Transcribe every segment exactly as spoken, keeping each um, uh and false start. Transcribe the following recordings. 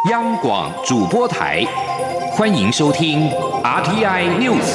央广主播台，欢迎收听 R T I News。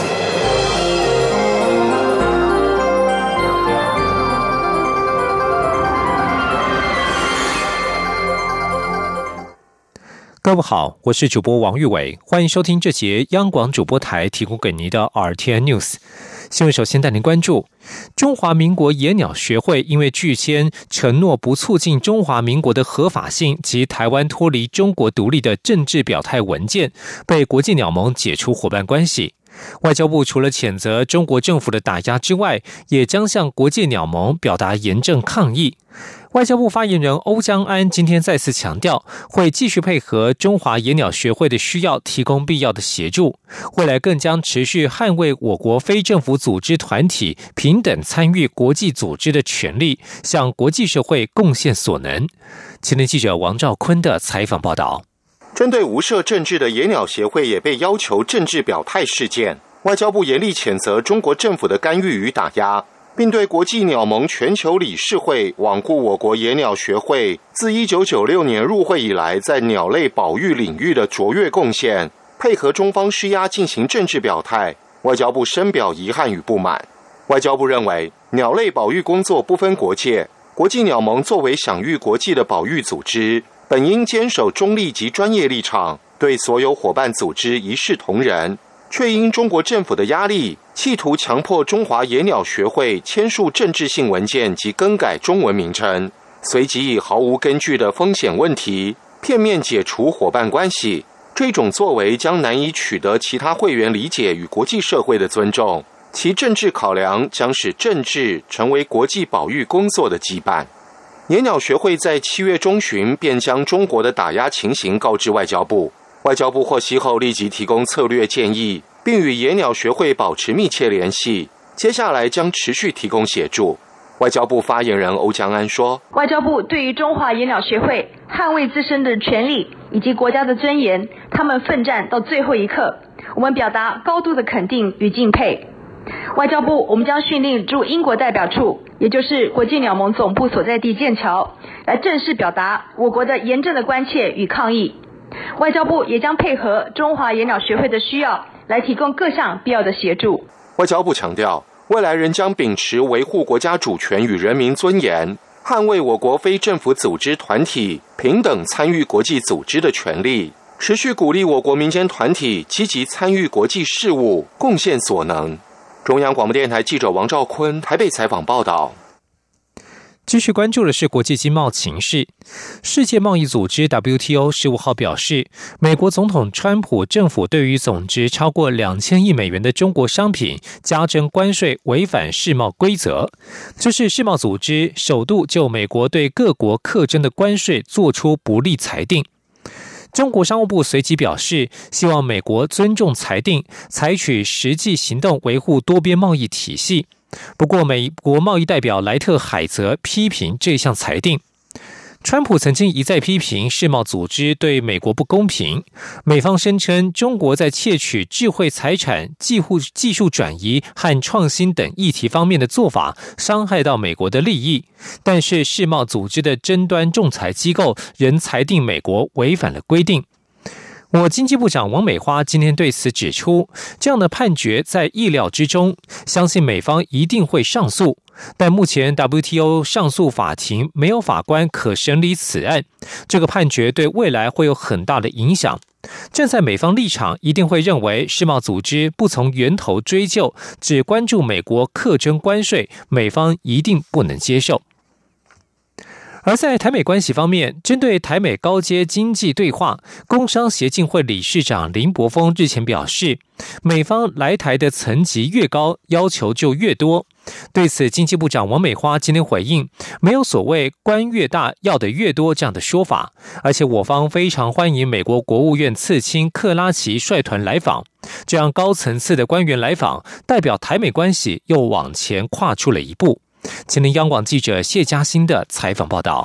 各位好，我是主播王玉伟，欢迎收听这节央广主播台提供给您的 R T I News。新闻首先带您关注，中华民国野鸟学会因为拒签承诺不促进中华民国的合法性及台湾脱离中国独立的政治表态文件，被国际鸟盟解除伙伴关系。外交部除了谴责中国政府的打压之外，也将向国际鸟盟表达严正抗议。外交部发言人欧江安今天再次强调，会继续配合中华野鸟学会的需要，提供必要的协助。未来更将持续捍卫我国非政府组织团体平等参与国际组织的权利，向国际社会贡献所能。前天记者王兆坤的采访报道。 针对无涉政治的野鸟协会也被要求政治表态事件，外交部严厉谴责中国政府的干预与打压，并对国际鸟盟全球理事会罔顾我国野鸟学会自一九九六年入会以来在鸟类保育领域的卓越贡献，配合中方施压进行政治表态，外交部深表遗憾与不满。外交部认为，鸟类保育工作不分国界，国际鸟盟作为享誉国际的保育组织，本应坚守中立及专业立场，对所有伙伴组织一视同仁，却因中国政府的压力，企图强迫中华野鸟学会签署政治性文件及更改中文名称，随即以毫无根据的风险问题片面解除伙伴关系。这种作为将难以取得其他会员理解与国际社会的尊重，其政治考量将使政治成为国际保育工作的羁绊。野鸟学会在七月中旬便将中国的打压情形告知外交部，外交部获悉后立即提供策略建议，并与野鸟学会保持密切联系，接下来将持续提供协助。外交部发言人欧江安说， 外交部对于中华野鸟学会捍卫自身的权利以及国家的尊严，他们奋战到最后一刻，我们表达高度的肯定与敬佩。外交部我们将训令驻英国代表处，也就是国际鸟盟总部所在地剑桥，来正式表达我国的严正的关切与抗议。外交部也将配合中华野鸟学会的需要，来提供各项必要的协助。 外交部强调，未来仍将秉持维护国家主权与人民尊严，捍卫我国非政府组织团体平等参与国际组织的权利，持续鼓励我国民间团体积极参与国际事务，贡献所能。中央广播电台记者王兆坤台北采访报道。 继续关注的是国际经贸情势。世界贸易组织 W T O 十五号表示，美国总统川普政府对于总值超过两千亿美元的中国商品加征关税，违反世贸规则。这是世贸组织首度就美国对各国课征的关税做出不利裁定。中国商务部随即表示，希望美国尊重裁定，采取实际行动维护多边贸易体系。不过，美国贸易代表莱特海泽批评这项裁定。川普曾经一再批评世贸组织对美国不公平，美方声称中国在窃取智慧财产、技术转移和创新等议题方面的做法伤害到美国的利益，但是世贸组织的争端仲裁机构仍裁定美国违反了规定。我经济部长王美花今天对此指出，这样的判决在意料之中，相信美方一定会上诉，但目前 W T O 上诉法庭没有法官可审理此案，这个判决对未来会有很大的影响。站在美方立场，一定会认为世贸组织不从源头追究，只关注美国课征关税，美方一定不能接受。而在台美关系方面，针对台美高阶经济对话，工商协进会理事长林柏峰日前表示，美方来台的层级越高，要求就越多。对此，经济部长王美花今天回应，没有所谓官越大要的越多这样的说法，而且我方非常欢迎美国国务院次卿克拉奇率团来访，这样高层次的官员来访，代表台美关系又往前跨出了一步。前天央广记者谢嘉欣的采访报道。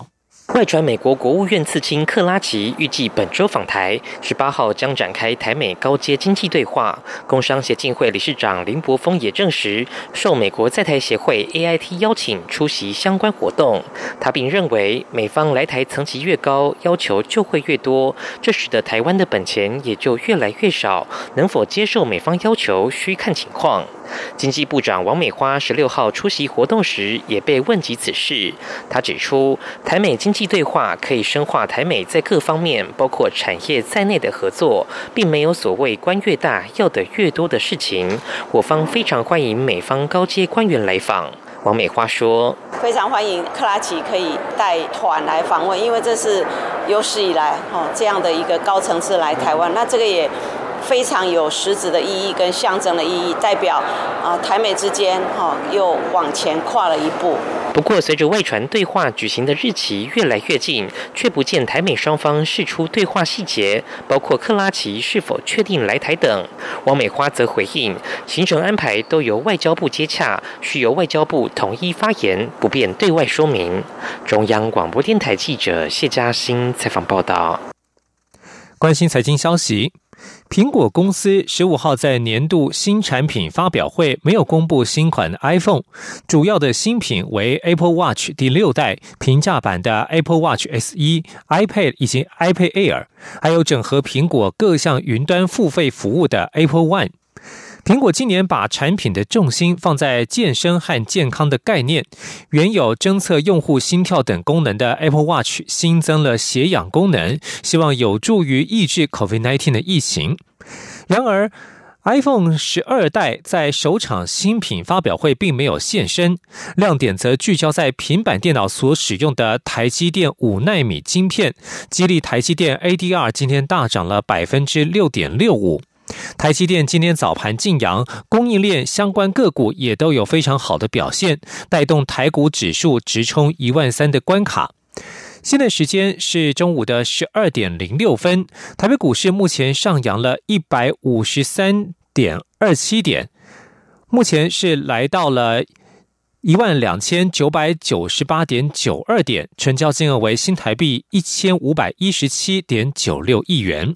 外传美国国务院次卿克拉奇预计本周访台，十八号将展开台美高阶经济对话。工商协进会理事长林柏峰也证实，受美国在台协会 A I T 邀请出席相关活动。他并认为，美方来台层级越高，要求就会越多，这使得台湾的本钱也就越来越少。能否接受美方要求，需看情况。经济部长王美花十六号出席活动时也被问及此事，他指出，台美经济对话可以深化台美在各方面，包括产业在内的合作，并没有所谓官越大要的越多的事情。我方非常欢迎美方高阶官员来访。王美花说， 非常欢迎克拉奇可以带团来访问，因为这是有史以来、哦、这样的一个高层次来台湾，那这个也非常有实质的意义跟象征的意义，代表啊、呃、台美之间哈、哦、又往前跨了一步。 不过，随着外传对话举行的日期越来越近，却不见台美双方释出对话细节，包括克拉奇是否确定来台等。王美花则回应，行程安排都由外交部接洽，需由外交部统一发言，不便对外说明。中央广播电台记者谢嘉欣采访报道。 关心财经消息，苹果公司十五号在年度新产品发表会没有公布新款的 iPhone， 主要的新品为 Apple Watch 第六代、平价版的 Apple Watch 十一、iPad 以及 iPad Air， 还有整合苹果各项云端付费服务的 Apple One。苹果今年把产品的重心放在健身和健康的概念，原有侦测用户心跳等功能的 Apple Watch 新增了血氧功能，希望有助于抑制 COVID 十九 的疫情。然而 iPhone 十二代在首场新品发表会并没有现身，亮点则聚焦在平板电脑所使用的台积电五奈米晶片，激励台积电 A D R 今天大涨了 百分之六点六五。台积电今天早盘劲扬，供应链相关个股也都有非常好的表现，带动台股指数直冲一万三的关卡。现在时间是中午的十二点零六分，台北股市目前上扬了一百五十三点二七点，目前是来到了一万两千九百九十八点九二点，成交金额为新台币一千五百一十七点九六亿元。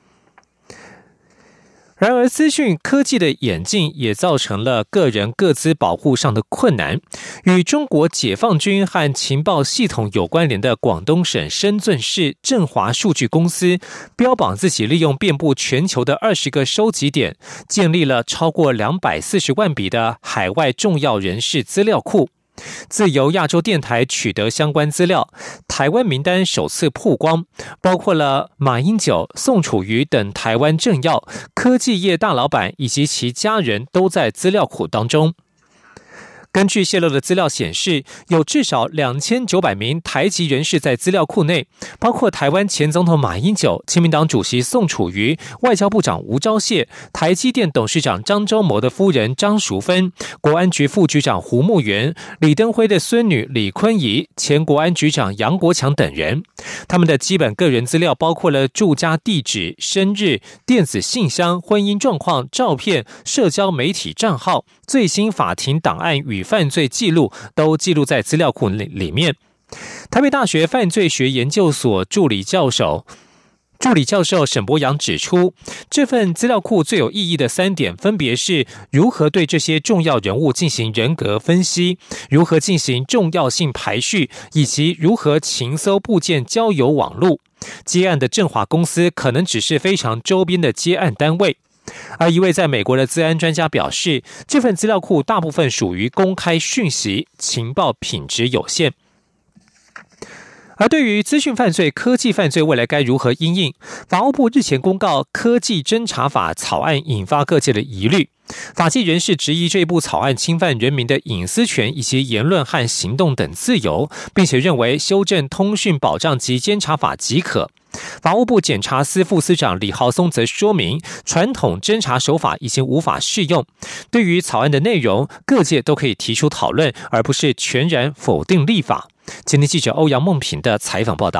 然而，资讯科技的演进也造成了个人个资保护上的困难。与中国解放军和情报系统有关联的广东省深圳市振华数据公司，标榜自己利用遍布全球的二十个收集点，建立了超过两百四十万笔的海外重要人士资料库。自由亚洲电台取得相关资料，台湾名单首次曝光，包括了马英九、宋楚瑜等台湾政要、科技业大老板以及其家人都在资料库当中。根据泄露的资料显示，有至少两千九百名台籍人士在资料库内，包括台湾前总统马英九、亲民党主席宋楚瑜、外交部长吴钊燮、台积电董事长张忠谋的夫人张淑芬、国安局副局长胡慕元、李登辉的孙女李坤仪、前国安局长杨国强等人。他们的基本个人资料包括了住家地址、生日、电子信箱、婚姻状况、照片、社交媒体账号、最新法庭档案与犯罪记录都记录在资料库里面。台北大学犯罪学研究所助理教授助理教授沈博阳指出，这份资料库最有意义的三点分别是如何对这些重要人物进行人格分析，如何进行重要性排序，以及如何情搜部件交友网路。接案的振华公司可能只是非常周边的接案单位。而一位在美国的资安专家表示，这份资料库大部分属于公开讯息，情报品质有限。而对于资讯犯罪、科技犯罪未来该如何因应，法务部日前公告科技侦查法草案引发各界的疑虑。法界人士质疑这部草案侵犯人民的隐私权以及言论和行动等自由，并且认为修正通讯保障及监察法即可。法务部检察司副司长李浩松则说明，传统侦查手法已经无法适用。对于草案的内容，各界都可以提出讨论，而不是全然否定立法。今天记者欧阳梦平的采访报道。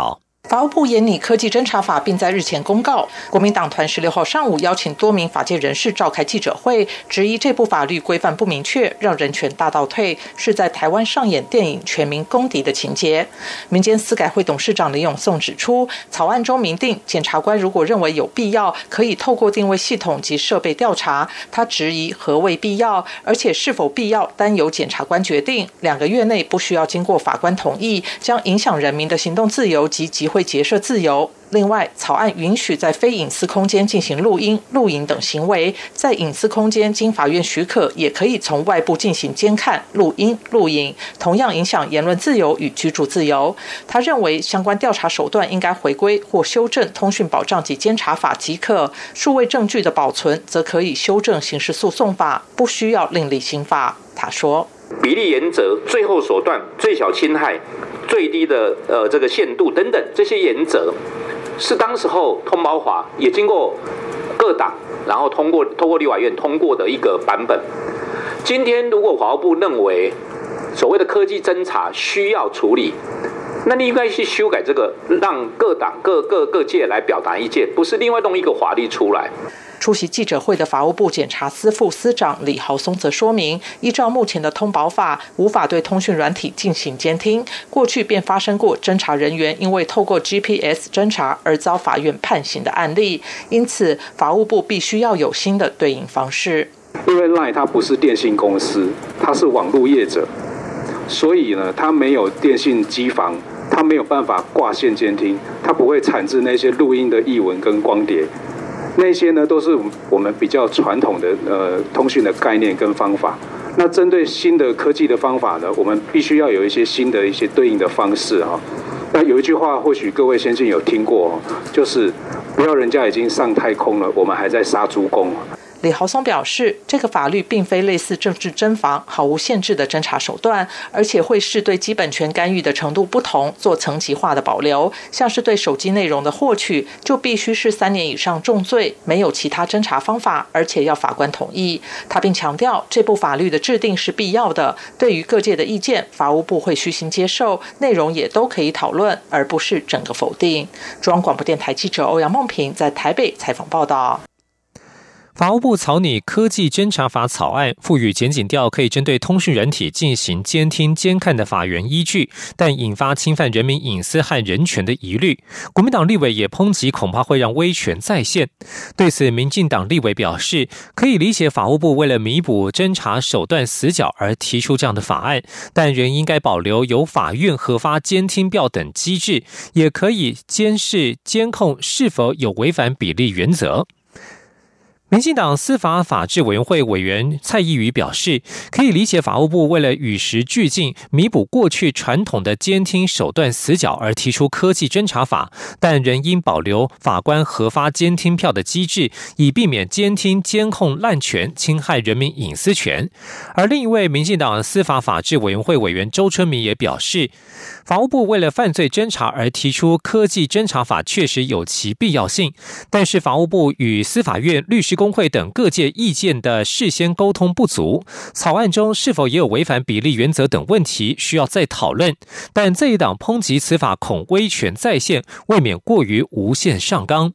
法务部研拟科技侦查法，并在日前公告。国民党团十六号上午邀请多名法界人士召开记者会，质疑这部法律规范不明确，让人权大倒退，是在台湾上演电影全民公敌的情节。民间司改会董事长林永颂指出，草案中明定，检察官如果认为有必要，可以透过定位系统及设备调查。他质疑何谓必要，而且是否必要单由检察官决定，两个月内不需要经过法官同意，将影响人民的行动自由及集会结社自由。另外，草案允许在非隐私空间进行录音、录影等行为，在隐私空间经法院许可，也可以从外部进行监看、录音、录影，同样影响言论自由与居住自由。他认为，相关调查手段应该回归或修正《通讯保障及监察法》即可，数位证据的保存则可以修正刑事诉讼法，不需要另立新法。他说， 比例原则、最后手段、最小侵害、最低的呃这个限度等等这些原则，是当时候通保法也经过各党，然后通过通过立法院通过的一个版本。今天如果法务部认为所谓的科技侦查需要处理，那你应该去修改这个，让各党各各各界来表达意见，不是另外弄一个法律出来。 出席记者会的法务部检察司副司长李豪松则说明，依照目前的通保法，无法对通讯软体进行监听。过去便发生过侦查人员因为透过 G P S 侦查而遭法院判刑的案例，因此法务部必须要有新的对应方式。 因为 LINE 它不是电信公司，它是网络业者，所以呢，它没有电信机房，它没有办法挂线监听，它不会产制那些录音的译文跟光碟。那些呢，都是我们比较传统的呃通讯的概念跟方法。那针对新的科技的方法呢，我们必须要有一些新的一些对应的方式啊。那有一句话，或许各位先进有听过，就是不要人家已经上太空了，我们还在杀猪工。 李豪松表示，这个法律并非类似政治侦防毫无限制的侦查手段，而且会视对基本权干预的程度不同做层级化的保留。像是对手机内容的获取，就必须是三年以上重罪，没有其他侦查方法，而且要法官同意。他并强调，这部法律的制定是必要的，对于各界的意见，法务部会虚心接受，内容也都可以讨论，而不是整个否定。中央广播电台记者欧阳梦平在台北采访报道。 法务部草拟科技侦查法草案，赋予检警调可以针对通讯软体进行监听监看的法源依据，但引发侵犯人民隐私和人权的疑虑。国民党立委也抨击，恐怕会让威权再现。对此，民进党立委表示，可以理解法务部为了弥补侦查手段死角而提出这样的法案，但仍应该保留由法院核发监听票等机制，也可以监视监控是否有违反比例原则。民进党司法法制委员会委员蔡宜瑜表示，可以理解法务部为了与时俱进，弥补过去传统的监听手段死角而提出科技侦查法，但仍应保留法官核发监听票的机制，以避免监听监控滥权，侵害人民隐私权。而另一位民进党司法法制委员会委员周春明也表示，法务部为了犯罪侦查而提出科技侦查法确实有其必要性，但是法务部与司法院、律师工会等各界意见的事先沟通不足，草案中是否也有违反比例原则等问题需要再讨论。但这一党抨击此法恐威权再现，未免过于无限上纲。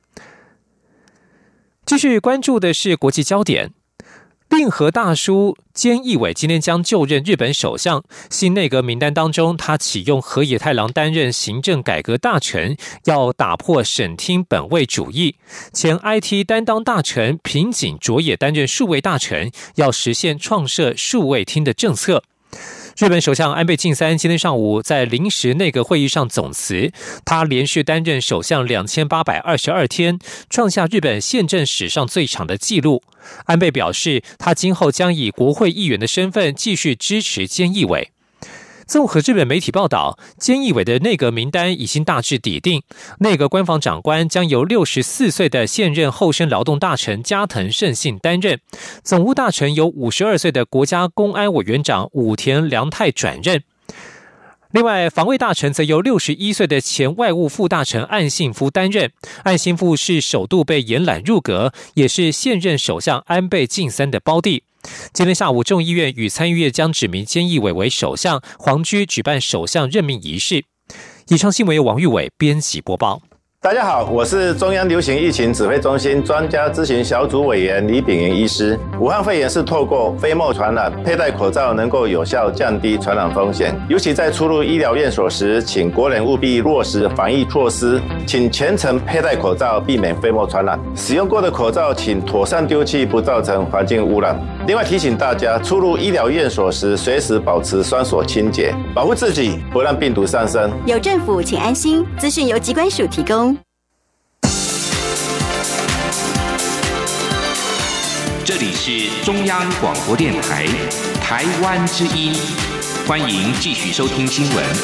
继续关注的是国际焦点。令和大叔菅义伟今天将就任日本首相，新内阁名单当中，他启用河野太郎担任行政改革大臣，要打破省厅本位主义。前 I T 担当大臣平井卓也担任数位大臣，要实现创设数位厅的政策。日本首相安倍晋三今天上午在临时内阁会议上总辞，他连续担任首相两千八百二十二天，创下日本宪政史上最长的纪录。安倍表示，他今后将以国会议员的身份继续支持菅义伟。综合日本媒体报道，菅义伟的内阁名单已经大致拟定，内阁官房长官将由六十四岁的现任厚生劳动大臣加藤胜信担任，总务大臣由五十二岁的国家公安委员长武田良太转任。另外，防卫大臣则由六十一岁的前外务副大臣岸信夫担任。岸信夫是首度被延揽入阁，也是现任首相安倍晋三的胞弟。今天下午，众议院与参议院将指名菅义伟为首相，皇居举办首相任命仪式。 以上新闻由王玉伟编辑播报。 大家好，我是中央流行疫情指挥中心专家咨询小组委员李秉云医师。武汉肺炎是透过飞沫传染，佩戴口罩能够有效降低传染风险。尤其在出入医疗院所时，请国人务必落实防疫措施，请全程佩戴口罩，避免飞沫传染。使用过的口罩请妥善丢弃，不造成环境污染。另外提醒大家，出入医疗院所时，随时保持双手清洁，保护自己，不让病毒上升。 有政府，请安心。资讯由疾管署提供。 这里是中央广播电台台湾之音，欢迎继续收听新闻。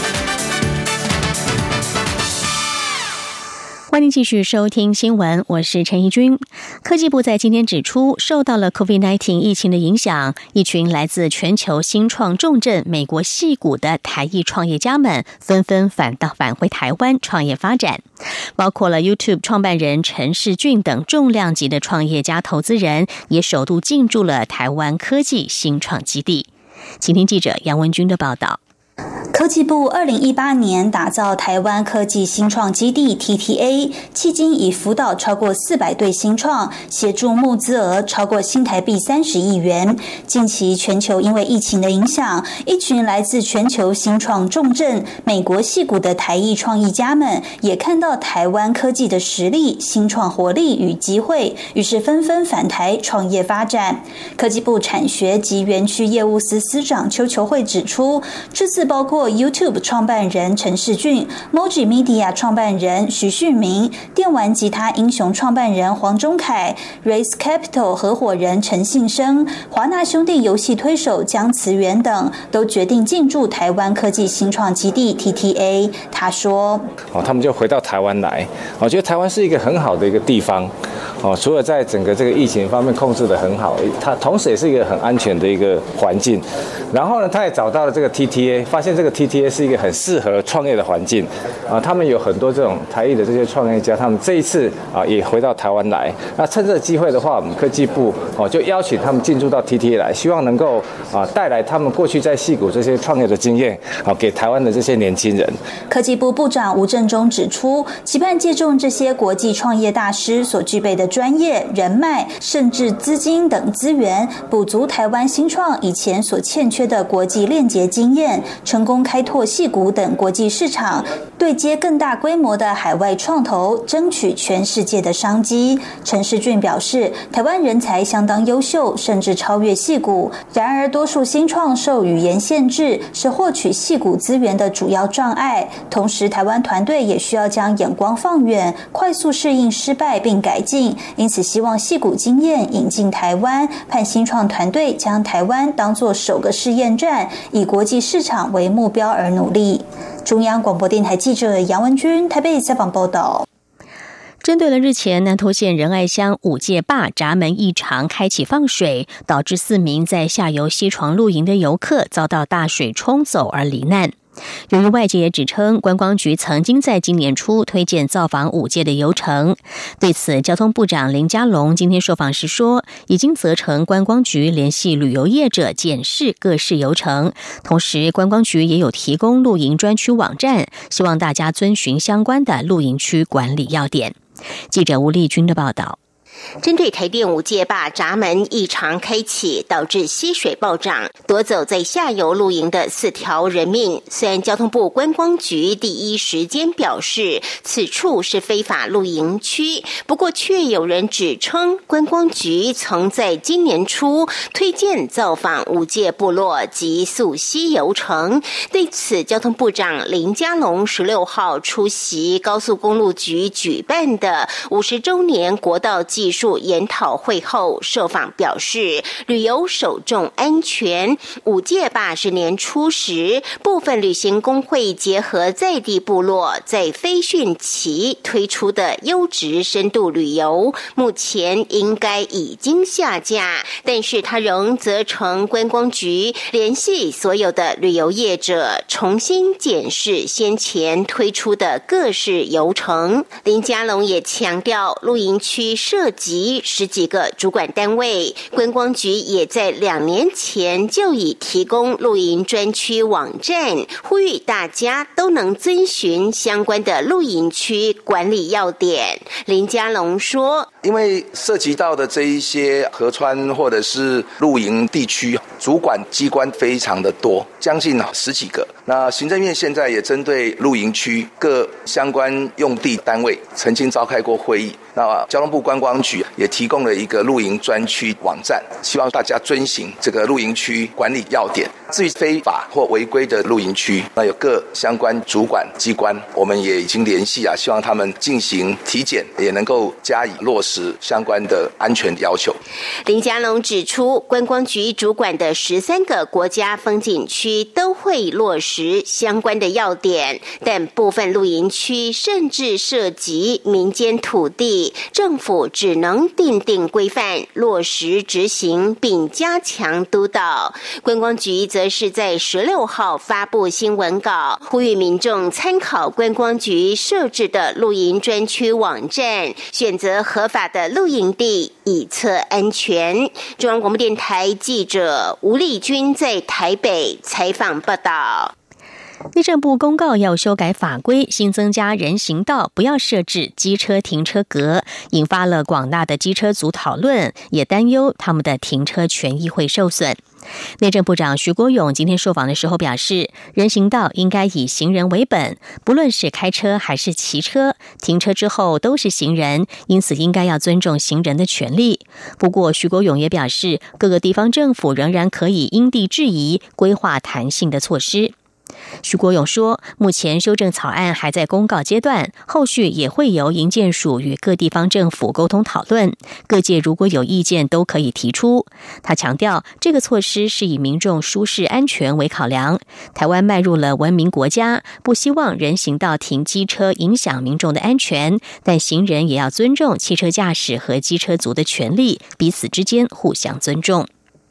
欢迎继续收听新闻，我是陈怡君。科技部在今天指出，受到了 COVID 十九 疫情的影响，一群来自全球新创重镇美国矽谷的台裔创业家们纷纷返到返回台湾创业发展，包括了 YouTube 创办人陈士峻等重量级的创业家投资人，也首度进驻了台湾科技新创基地。请听记者杨文君的报道。 科技部二零一八年打造台湾科技新创基地 T T A， 迄今已辅导超过四百对新创，协助募资额超过新台币三十亿元。近期全球因为疫情的影响，一群来自全球新创重镇美国矽谷的台裔创意家们，也看到台湾科技的实力、新创活力与机会，于是纷纷返台创业发展。科技部产学及园区业务司司长邱球慧指出，这次包括YouTube 创办人陈士峻、Moji Media 创办人徐旭明、电玩吉他英雄创办人黄忠凯、Race Capital 合伙人陈信生、华纳兄弟游戏推手江慈源等，都决定进驻台湾科技新创基地 T T A。他说：“ 哦，他们就回到台湾来，我觉得台湾是一个很好的一个地方。哦，除了在整个这个疫情方面控制得很好，它同时也是一个很安全的一个环境。然后呢，他也找到了这个 T T A， 发现这个 T T A 是一个很适合创业的环境啊。他们有很多这种台裔的这些创业家，他们这一次啊也回到台湾来。那趁这个机会的话，我们科技部哦就邀请他们进驻到 T T A 来，希望能够啊带来他们过去在矽谷这些创业的经验啊给台湾的这些年轻人。 科技部部长吴振中指出，期盼借重这些国际创业大师所具备的专业、人脉，甚至资金等资源，补足台湾新创以前所欠缺的国际链接经验，成功开拓矽谷等国际市场，对接更大规模的海外创投，争取全世界的商机。陈士峻表示，台湾人才相当优秀，甚至超越矽谷。然而，多数新创受语言限制，是获取矽谷资源的主要障碍。同时，台湾团队也需要将眼光放远，快速适应失败并改进。因此，希望矽谷经验引进台湾，盼新创团队将台湾当作首个试验站，以国际市场为目标而努力。中央广播电台记者杨文君台北采访报道。 针对了日前南投县仁爱乡五界坝闸门异常开启放水，导致四名在下游溪床露营的游客遭到大水冲走而罹难。由于外界也指称观光局曾经在今年初推荐造访五界的游程，对此交通部长林佳龙今天受访时说，已经责成观光局联系旅游业者检视各式游程，同时观光局也有提供露营专区网站，希望大家遵循相关的露营区管理要点。记者吴丽君的报道。 针对台电五界坝闸门异常开启，导致溪水暴涨，夺走在下游露营的四条人命。虽然交通部观光局第一时间表示此处是非法露营区，不过却有人指称观光局曾在今年初推荐造访五界部落及溯溪游程。对此，交通部长林佳龙十六号出席高速公路局举办的五十周年国道技术研讨会后受访表示，旅游首重安全。五界坝是年初时，部分旅行工会结合在地部落，在非汛期推出的优质深度旅游，目前应该已经下架，但是他仍责成观光局联系所有的旅游业者，重新检视先前推出的各式游程。林佳龙也强调，露营区设及十几个主管单位。观光局也在两年前就已提供露营专区网站，呼吁大家都能遵循相关的露营区管理要点。林佳龙说， 因为涉及到的这一些河川或者是露营地区，主管机关非常的多，将近十几个。那行政院现在也针对露营区各相关用地单位曾经召开过会议，那交通部观光局也提供了一个露营专区网站，希望大家遵行这个露营区管理要点。至于非法或违规的露营区，那有各相关主管机关，我们也已经联系啊，希望他们进行体检，也能够加以落实相关的安全要求。 林佳龙指出，观光局主管的十三个国家风景区都会落实相关的要点，但部分露营区甚至涉及民间土地，政府只能订定规范，落实执行，并加强督导。观光局则是在十六号发布新闻稿，呼吁民众参考观光局设置的露营专区网站，选择合法的露营地，以测安全。中央广播电台记者吴丽君在台北采访报道。 内政部公告要修改法规，新增加人行道不要设置机车停车格，引发了广大的机车族讨论，也担忧他们的停车权益会受损。内政部长徐国勇今天受访的时候表示，人行道应该以行人为本，不论是开车还是骑车，停车之后都是行人，因此应该要尊重行人的权利。不过徐国勇也表示，各个地方政府仍然可以因地制宜规划弹性的措施。徐国勇说，目前修正草案还在公告阶段，后续也会由营建署与各地方政府沟通讨论，各界如果有意见都可以提出。他强调，这个措施是以民众舒适安全为考量，台湾迈入了文明国家，不希望人行道停机车影响民众的安全，但行人也要尊重汽车驾驶和机车族的权利，彼此之间互相尊重。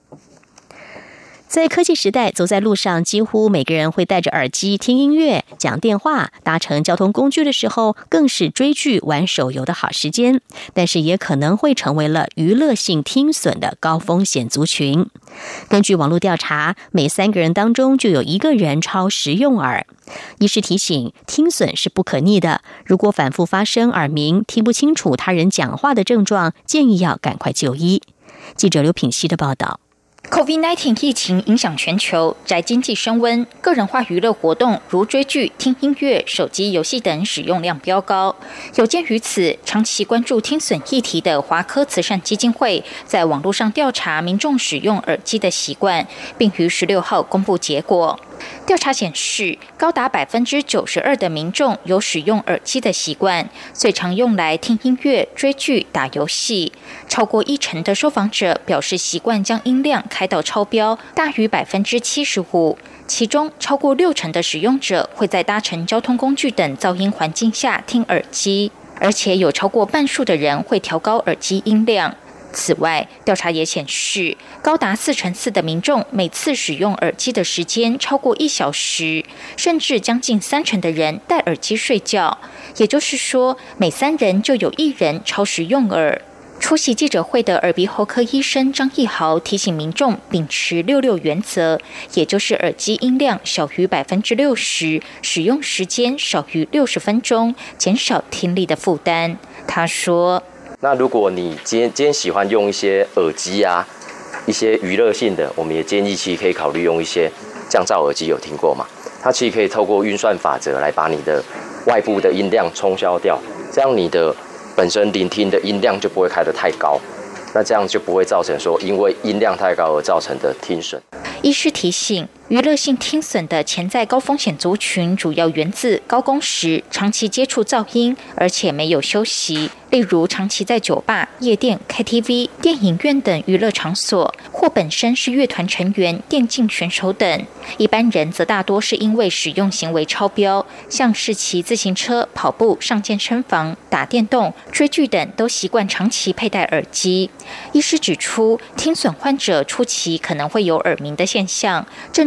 在科技时代，走在路上，几乎每个人会戴着耳机听音乐、讲电话，搭乘交通工具的时候，更是追剧、玩手游的好时间。但是也可能会成为了娱乐性听损的高风险族群。根据网络调查，每三个人当中就有一个人超时用耳。医师提醒，听损是不可逆的，如果反复发生耳鸣、听不清楚他人讲话的症状，建议要赶快就医。记者刘品希的报道。 COVID 十九 疫情影响全球，宅经济升温，个人化娱乐活动如追剧、听音乐、手机游戏等使用量飙高。有鉴于此，长期关注听损议题的华科慈善基金会在网络上调查民众使用耳机的习惯，并于十六号公布结果。调查显示，高达百分之九十二的民众有使用耳机的习惯，最常用来听音乐、追剧、打游戏。超过一成的受访者表示习惯将音量开到超标，大于百分之七十五。其中，超过六成的使用者会在搭乘交通工具等噪音环境下听耳机，而且有超过半数的人会调高耳机音量。此外，调查也显示，高达四成四的民众每次使用耳机的时间超过一小时，甚至将近三成的人戴耳机睡觉。也就是说，每三人就有一人超时用耳。出席记者会的耳鼻喉科医生张义豪提醒民众秉持六六原则，也就是耳机音量小于百分之六十，使用时间少于六十分钟，减少听力的负担。他说， 那如果你今天今天喜欢用一些耳机啊，一些娱乐性的，我们也建议其实可以考虑用一些降噪耳机，有听过吗？它其实可以透过运算法则来把你的外部的音量冲消掉，这样你的本身聆听的音量就不会开得太高，那这样就不会造成说因为音量太高而造成的听损。 医师提醒，娱乐性听损的潜在高风险族群主要源自高工时、长期接触噪音，而且没有休息，例如长期在酒吧、夜店、K T V、电影院等娱乐场所，或本身是乐团成员、电竞选手等。一般人则大多是因为使用行为超标，像是骑自行车、跑步、上健身房、打电动、追剧等，都习惯长期佩戴耳机。医师指出，听损患者初期可能会有耳鸣的现象，症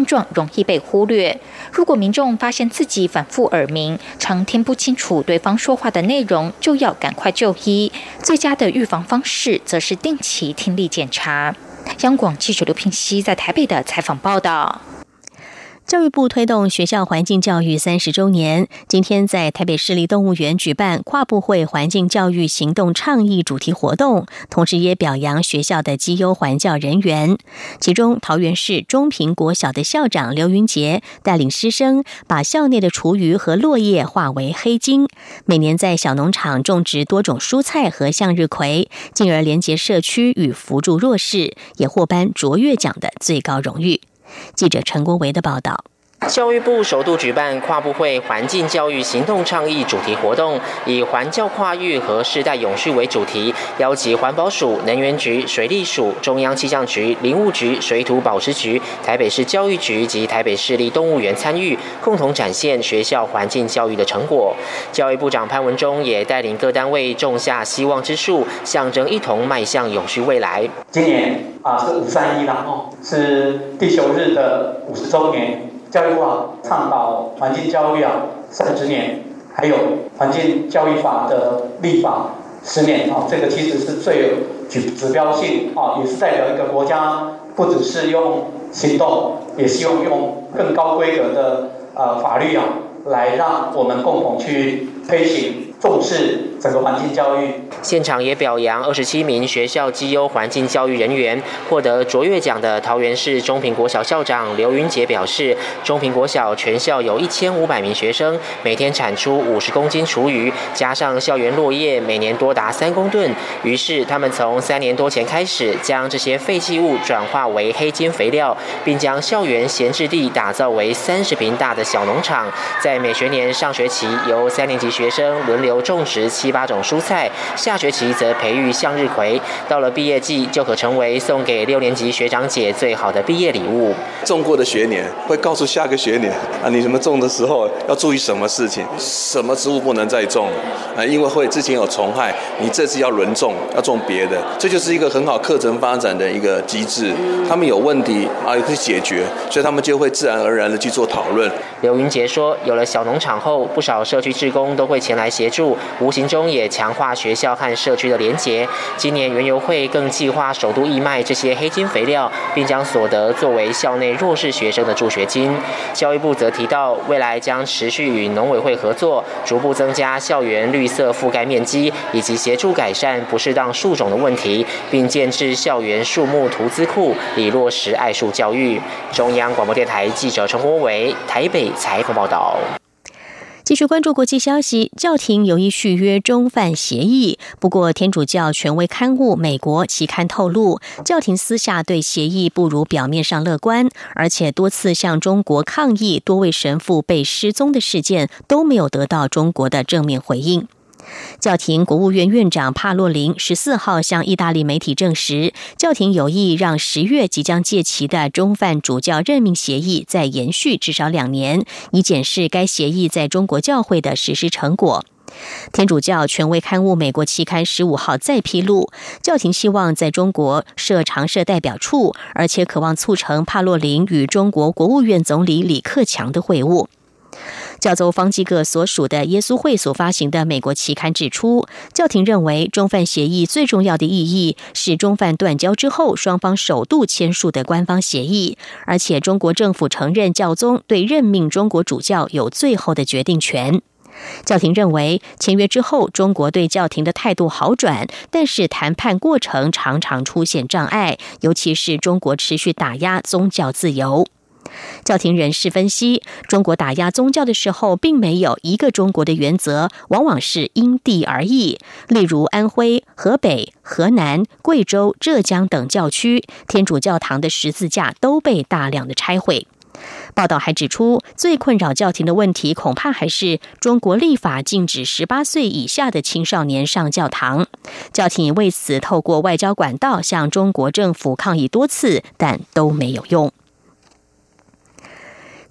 状容易被忽略。如果民众发现自己反复耳鸣，常听不清楚对方说话的内容，就要赶快就医。最佳的预防方式则是定期听力检查。央广记者刘聘熙在台北的采访报道。 教育部推动学校环境教育三十周年，今天在台北市立动物园举办跨部会环境教育行动倡议主题活动，同时也表扬学校的绩优环教人员。其中，桃园市中平国小的校长刘云杰带领师生把校内的厨余和落叶化为黑金，每年在小农场种植多种蔬菜和向日葵，进而连结社区与扶助弱势，也获颁卓越奖的最高荣誉。记者陈国维的报道。 教育部首度举办跨部会环境教育行动倡议主题活动，以环教跨域和世代永续为主题，邀集环保署、能源局、水利署、中央气象局、林务局、水土保持局、台北市教育局及台北市立动物园参与，共同展现学校环境教育的成果。教育部长潘文忠也带领各单位种下希望之树，象征一同迈向永续未来。 今年啊是五三一啦，哦，是地球日的五十周年。教育部啊，倡导环境教育啊三十年，还有环境教育法的立法十年啊，这个其实是最有指指标性啊，也是代表一个国家不只是用行动，也希望用更高规格的呃法律啊，来让我们共同去推行重视整个环境教育。 现场也表扬二十七名学校绩优环境教育人员，获得卓越奖的桃园市中平国小校长刘云杰表示，中平国小全校有一千五百名学生，每天产出五十公斤厨余，加上校园落叶每年多达三公吨，于是他们从三年多前开始，将这些废弃物转化为黑金肥料，并将校园闲置地打造为三十坪大的小农场，在每学年上学期由三年级学生轮流种植七八种蔬菜，下学期则培育向日葵，到了毕业季就可成为送给六年级学长姐最好的毕业礼物。 种过的学年会告诉下个学年啊，你什么种的时候要注意什么事情，什么植物不能再种啊，因为会之前有虫害，你这次要轮种，要种别的，这就是一个很好课程发展的一个机制。他们有问题啊，也可以解决，所以他们就会自然而然的去做讨论。 刘云杰说，有了小农场后，不少社区志工都会前来协助，无形中也强化学校和社区的连结。今年园游会更计划首度义卖这些黑金肥料，并将所得作为校内弱势学生的助学金。教育部则提到，未来将持续与农委会合作，逐步增加校园绿色覆盖面积，以及协助改善不适当树种的问题，并建置校园树木图资库，以落实爱树教育。中央广播电台记者陈国维台北采访报道。 继续关注国际消息，教廷有意续约中梵协议，不过天主教权威刊物《美国》期刊透露，教廷私下对协议不如表面上乐观，而且多次向中国抗议多位神父被失踪的事件都没有得到中国的正面回应。教廷国务院院长帕洛林十四号向意大利媒体证实，教廷有意让十月即将届期的中梵主教任命协议再延续至少两年，以检视该协议在中国教会的实施成果。天主教权威刊物《美国》期刊十五号再披露，教廷希望在中国设常设代表处，而且渴望促成帕洛林与中国国务院总理李克强的会晤。教宗方济各所属的耶稣会所发行的美国期刊指出，教廷认为中梵协议最重要的意义是中梵断交之后双方首度签署的官方协议，而且中国政府承认教宗对任命中国主教有最后的决定权。教廷认为，签约之后，中国对教廷的态度好转，但是谈判过程常常出现障碍，尤其是中国持续打压宗教自由。教廷人士分析，中国打压宗教的时候，并没有一个中国的原则，往往是因地而异。例如安徽、河北、河南、贵州、浙江等教区，天主教堂的十字架都被大量的拆毁。报道还指出，最困扰教廷的问题恐怕还是中国立法禁止十八岁以下的青少年上教堂。教廷为此透过外交管道向中国政府抗议多次，但都没有用。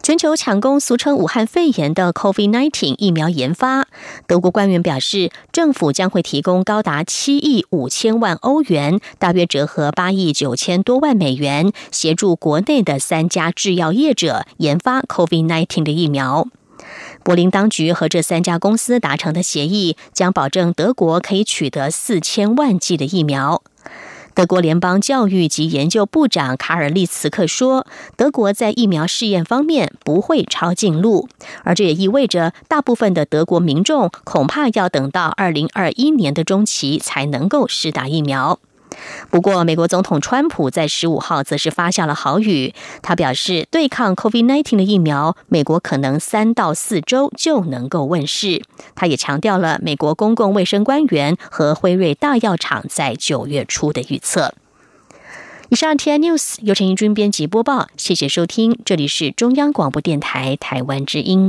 全球抢攻俗称武汉肺炎的 COVID 十九 疫苗研发，德国官员表示，政府将会提供高达七亿五千万欧元，大约折合八亿九千多万美元，协助国内的三家制药业者研发 COVID 十九 的疫苗。柏林当局和这三家公司达成的协议，将保证德国可以取得四千万剂的疫苗。德国联邦教育及研究部长卡尔利茨克说，德国在疫苗试验方面不会抄近路，而这也意味着大部分的德国民众恐怕要等到二零二一年的中期才能够施打疫苗。不过，美国总统川普在十五号则是发下了豪语，他表示，对抗 COVID 十九 的疫苗，美国可能三到四周就能够问世。他也强调了美国公共卫生官员和辉瑞大药厂在九月初的预测。以上 T I News 由陈怡君编辑播报，谢谢收听，这里是中央广播电台台湾之音。